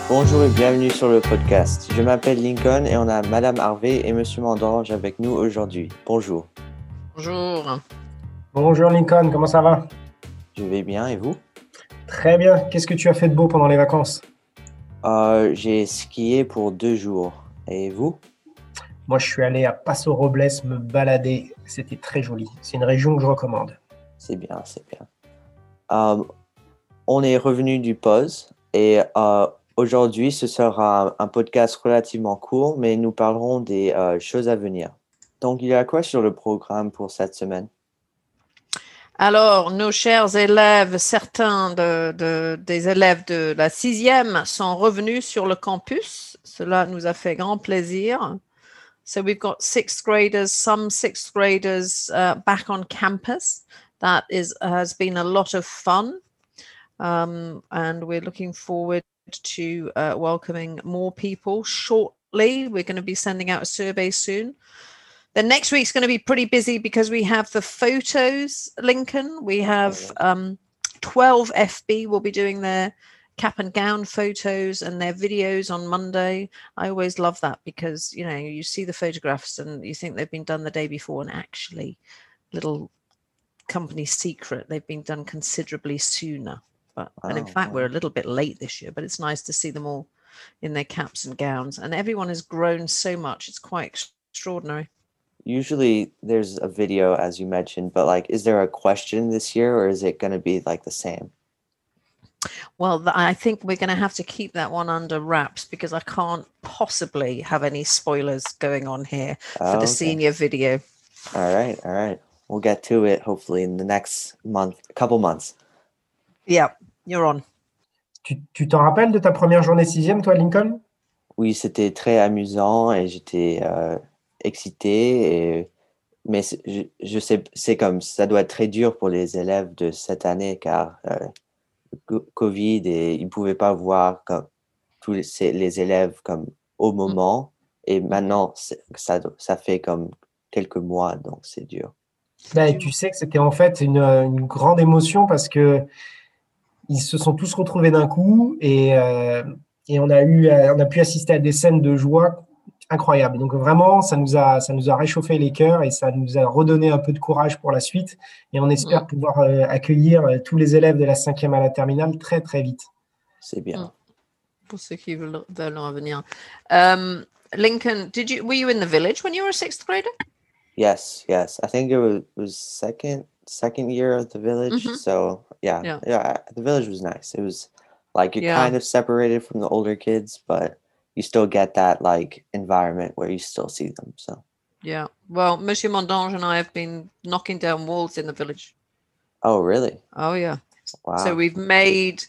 Bonjour et bienvenue sur le podcast. Je m'appelle Lincoln et on a Madame Harvey et Monsieur Mandange avec nous aujourd'hui. Bonjour. Bonjour. Bonjour Lincoln, comment ça va? Je vais bien et vous? Très bien. Qu'est-ce que tu as fait de beau pendant les vacances? J'ai skié pour 2 jours. Et vous? Moi, je suis allé à Paso Robles me balader. C'était très joli. C'est une région que je recommande. C'est bien, c'est bien. On est revenu du pause et aujourd'hui ce sera un podcast relativement court, mais nous parlerons des choses à venir. Donc il y a quoi sur le programme pour cette semaine? Alors, nos chers élèves, certains des élèves de la 6e sont revenus sur le campus. Cela nous a fait grand plaisir. So we've got some sixth graders back on campus. That has been a lot of fun. And we're looking forward to welcoming more people shortly. We're going to be sending out a survey soon. Then next week's going to be pretty busy because we have the photos, Lincoln. We have 12 FB will be doing their cap and gown photos and their videos on Monday. I always love that because, you know, you see the photographs and you think they've been done the day before, and actually, little company secret, they've been done considerably sooner. And in fact, we're a little bit late this year, but it's nice to see them all in their caps and gowns. And everyone has grown so much. It's quite extraordinary. Usually there's a video, as you mentioned, but like, is there a question this year or is it going to be like the same? Well, I think we're going to have to keep that one under wraps because I can't possibly have any spoilers going on here for the senior video. All right. We'll get to it hopefully in the next couple months. Yeah, you're on. Tu t'en rappelles de ta première journée 6e, toi, Lincoln? Oui, c'était très amusant et j'étais excité. Mais je sais, c'est comme ça doit être très dur pour les élèves de cette année car Covid et ils ne pouvaient pas voir comme tous les élèves comme au moment. Et maintenant, ça fait comme quelques mois, donc c'est dur. Ben, tu sais que c'était en fait une grande émotion parce que ils se sont tous retrouvés d'un coup et on a pu assister à des scènes de joie incroyables. Donc vraiment, ça nous a réchauffé les cœurs et ça nous a redonné un peu de courage pour la suite. Et on espère pouvoir accueillir tous les élèves de la 5e à la terminale très, très vite. C'est bien. Pour ceux qui veulent en venir. Lincoln, were you in the village when you were a 6th grader? Yes. I think it was second year of the village. Mm-hmm. So yeah, the village was nice. It was like you're kind of separated from the older kids, but you still get that like environment where you still see them. So yeah, well, Monsieur Mondange and I have been knocking down walls in the village. Oh, really? Oh, yeah. Wow. So we've made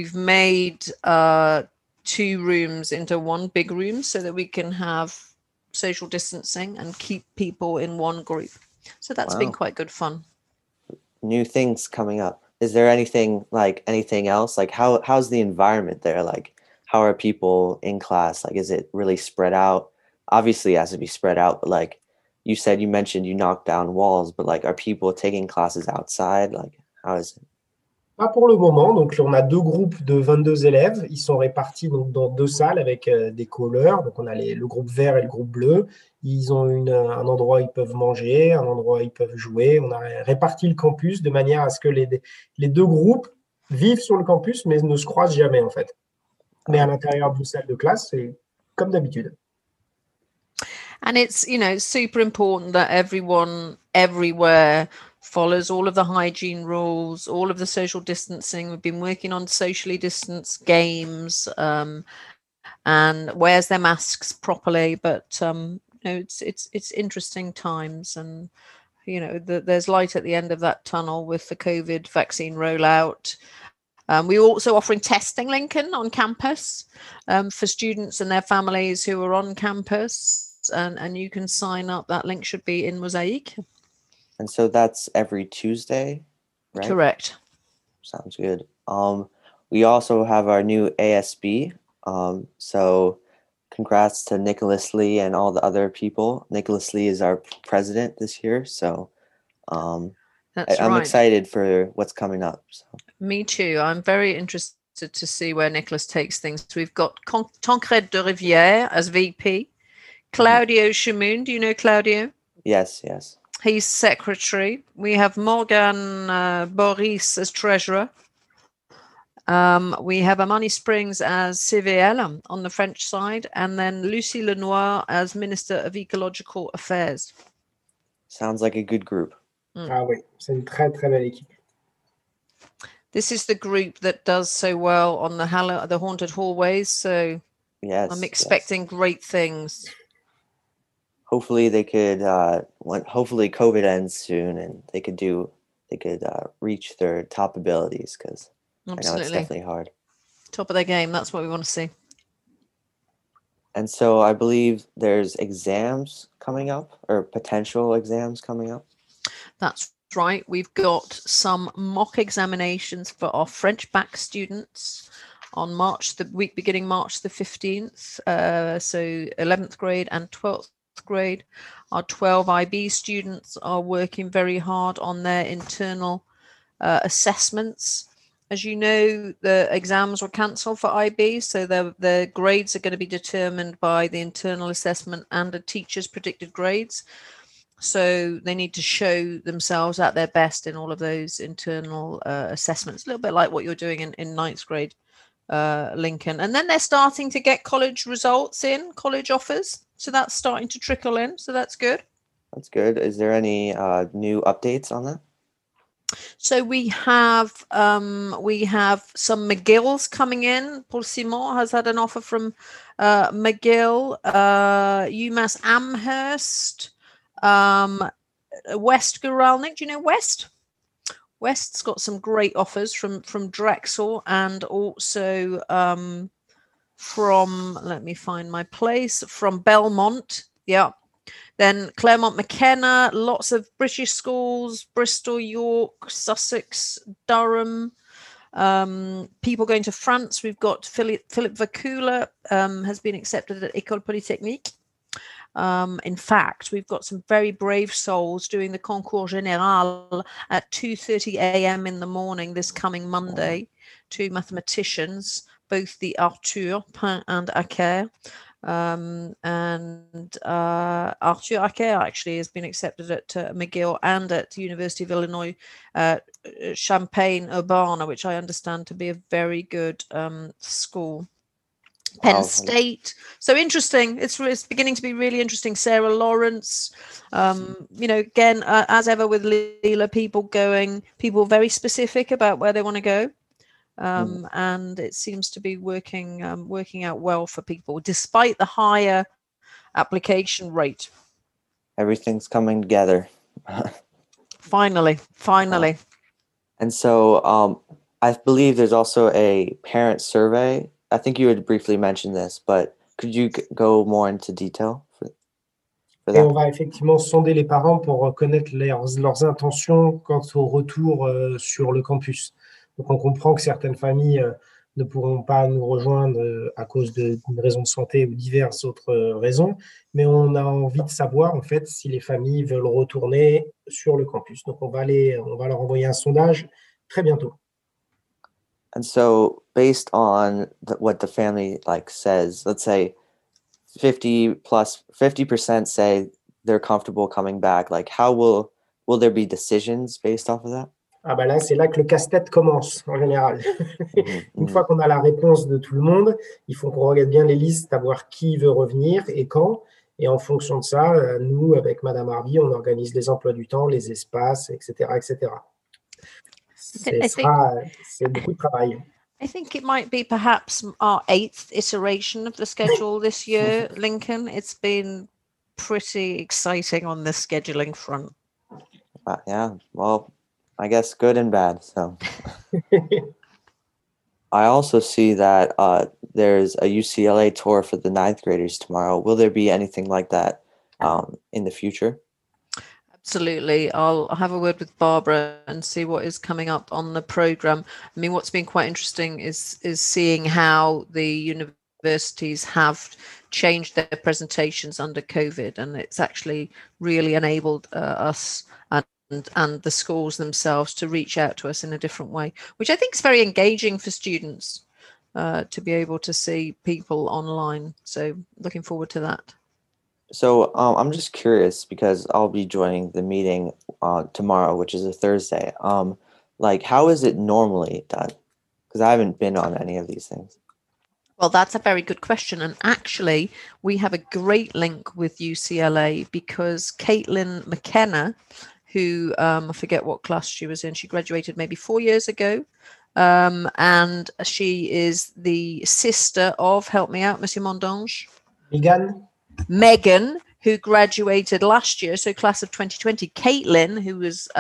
2 rooms into one big room so that we can have social distancing and keep people in one group. So that's been quite good fun. New things coming up. Is there anything else? Like how's the environment there? Like how are people in class? Like is it really spread out? Obviously it has to be spread out, but like you mentioned you knocked down walls, but like are people taking classes outside? Like how is it? Pas pour le moment. Donc, on a 2 groupes de 22 élèves. Ils sont répartis donc, dans 2 salles avec des couleurs. Donc, on a le groupe vert et le groupe bleu. Ils ont un endroit où ils peuvent manger, un endroit où ils peuvent jouer. On a réparti le campus de manière à ce que les 2 groupes vivent sur le campus, mais ne se croisent jamais, en fait. Mais à l'intérieur d'une salle de classe, c'est comme d'habitude. And it's, super important that everyone everywhere follows all of the hygiene rules, all of the social distancing. We've been working on socially distanced games and wears their masks properly. But it's interesting times, and there's light at the end of that tunnel with the COVID vaccine rollout. We're also offering testing, Lincoln, on campus for students and their families who are on campus. And you can sign up. That link should be in Mosaic. And so that's every Tuesday, right? Correct. Sounds good. We also have our new ASB. So congrats to Nicholas Lee and all the other people. Nicholas Lee is our president this year. So I'm excited for what's coming up. So. Me too. I'm very interested to see where Nicholas takes things. We've got Tancred de Rivière as VP, Claudio Chamoun. Do you know Claudio? Yes. He's secretary. We have Morgan Boris as treasurer. We have Amani Springs as CVL on the French side, and then Lucie Lenoir as Minister of Ecological Affairs. Sounds like a good group. Ah oui, c'est une très très belle équipe. This is the group that does so well on the haunted hallways. So Yes, I'm expecting great things. Hopefully they could. Hopefully COVID ends soon, and they could reach their top abilities, because I know it's definitely hard. Top of their game. That's what we want to see. And so I believe there's exams coming up, or potential exams coming up. That's right. We've got some mock examinations for our French bac students on the week beginning March the 15th. So 11th grade and 12th grade. Our 12 IB students are working very hard on their internal assessments. As you know, the exams were cancelled for IB, so the grades are going to be determined by the internal assessment and the teacher's predicted grades. So they need to show themselves at their best in all of those internal assessments, a little bit like what you're doing in ninth grade, Lincoln. And then they're starting to get college results in, college offers. So that's starting to trickle in. So that's good. That's good. Is there any new updates on that? So we have some McGill's coming in. Paul Simon has had an offer from McGill, UMass Amherst, West Guralnik. Do you know West? West's got some great offers from Drexel, and also from, let me find my place, from Belmont. Yeah. Then Claremont McKenna, lots of British schools, Bristol, York, Sussex, Durham. People going to France. We've got Philip Vacula has been accepted at École Polytechnique. In fact, we've got some very brave souls doing the Concours Général at 2:30 a.m. in the morning this coming Monday. Two mathematicians, both the Arthur Pin and Acker. Arthur Acker actually has been accepted at McGill and at the University of Illinois Champaign-Urbana, which I understand to be a very good school. Penn State. So interesting. It's beginning to be really interesting. Sarah Lawrence, again, as ever with Leela, people very specific about where they want to go. And it seems to be working out well for people, despite the higher application rate. Everything's coming together. Finally. And so I believe there's also a parent survey. I think you had briefly mentioned this, but could you go more into detail for that? Et on va effectivement sonder les parents pour reconnaître leurs intentions quant au retour sur le campus. Donc, on comprend que certaines familles ne pourront pas nous rejoindre à cause d'une raison de santé ou diverses autres raisons, mais on a envie de savoir, en fait, si les familles veulent retourner sur le campus. Donc, on va leur envoyer un sondage très bientôt. And so, based on what the family says, let's say 50% say they're comfortable coming back. How will there be decisions based off of that? Ah bah là, c'est là que le casse-tête commence, en général. Une fois qu'on a la réponse de tout le monde, il faut qu'on regarde bien les listes, savoir qui veut revenir et quand. Et en fonction de ça, nous, avec Madame Harvey, on organise les emplois du temps, les espaces, etc., etc. C'est beaucoup de travail. I think it might be perhaps our 8th iteration of the schedule this year, Lincoln. It's been pretty exciting on the scheduling front. Yeah, well, I guess good and bad. So I also see that there's a UCLA tour for the 9th graders tomorrow. Will there be anything like that in the future? Absolutely. I'll have a word with Barbara and see what is coming up on the program. I mean, what's been quite interesting is seeing how the universities have changed their presentations under COVID, and it's actually really enabled us and the schools themselves to reach out to us in a different way, which I think is very engaging for students. to be able to see people online. So looking forward to that. So I'm just curious because I'll be joining the meeting tomorrow, which is a Thursday. Like, how is it normally done? Because I haven't been on any of these things. Well, that's a very good question. And actually, we have a great link with UCLA because Caitlin McKenna, who I forget what class she was in, she graduated maybe 4 years ago. And she is the sister of, help me out, Monsieur Mondange. Megan, who graduated last year, so class of 2020. Caitlin, who was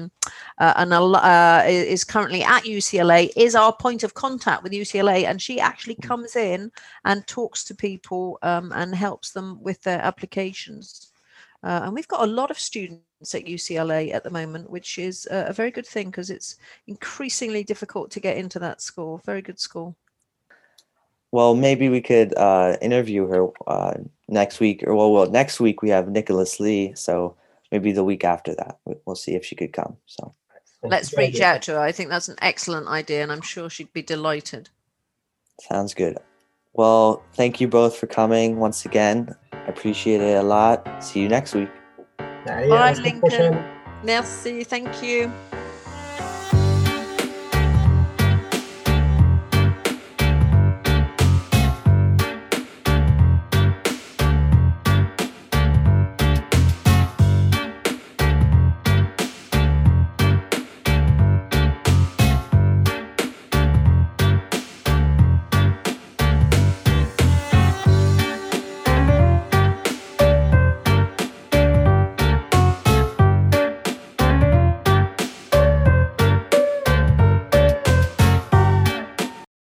is currently at UCLA, is our point of contact with UCLA, and she actually comes in and talks to people and helps them with their applications. And we've got a lot of students at UCLA at the moment, which is a very good thing because it's increasingly difficult to get into that school. Very good school. Well, maybe we could interview her next week, or well, next week we have Nicholas Lee, so maybe the week after that we'll see if she could come. So let's reach out to her. I think that's an excellent idea, and I'm sure she'd be delighted. Sounds good. Well, thank you both for coming once again. I appreciate it a lot. See you next week. Bye, Lincoln. Merci. Thank you.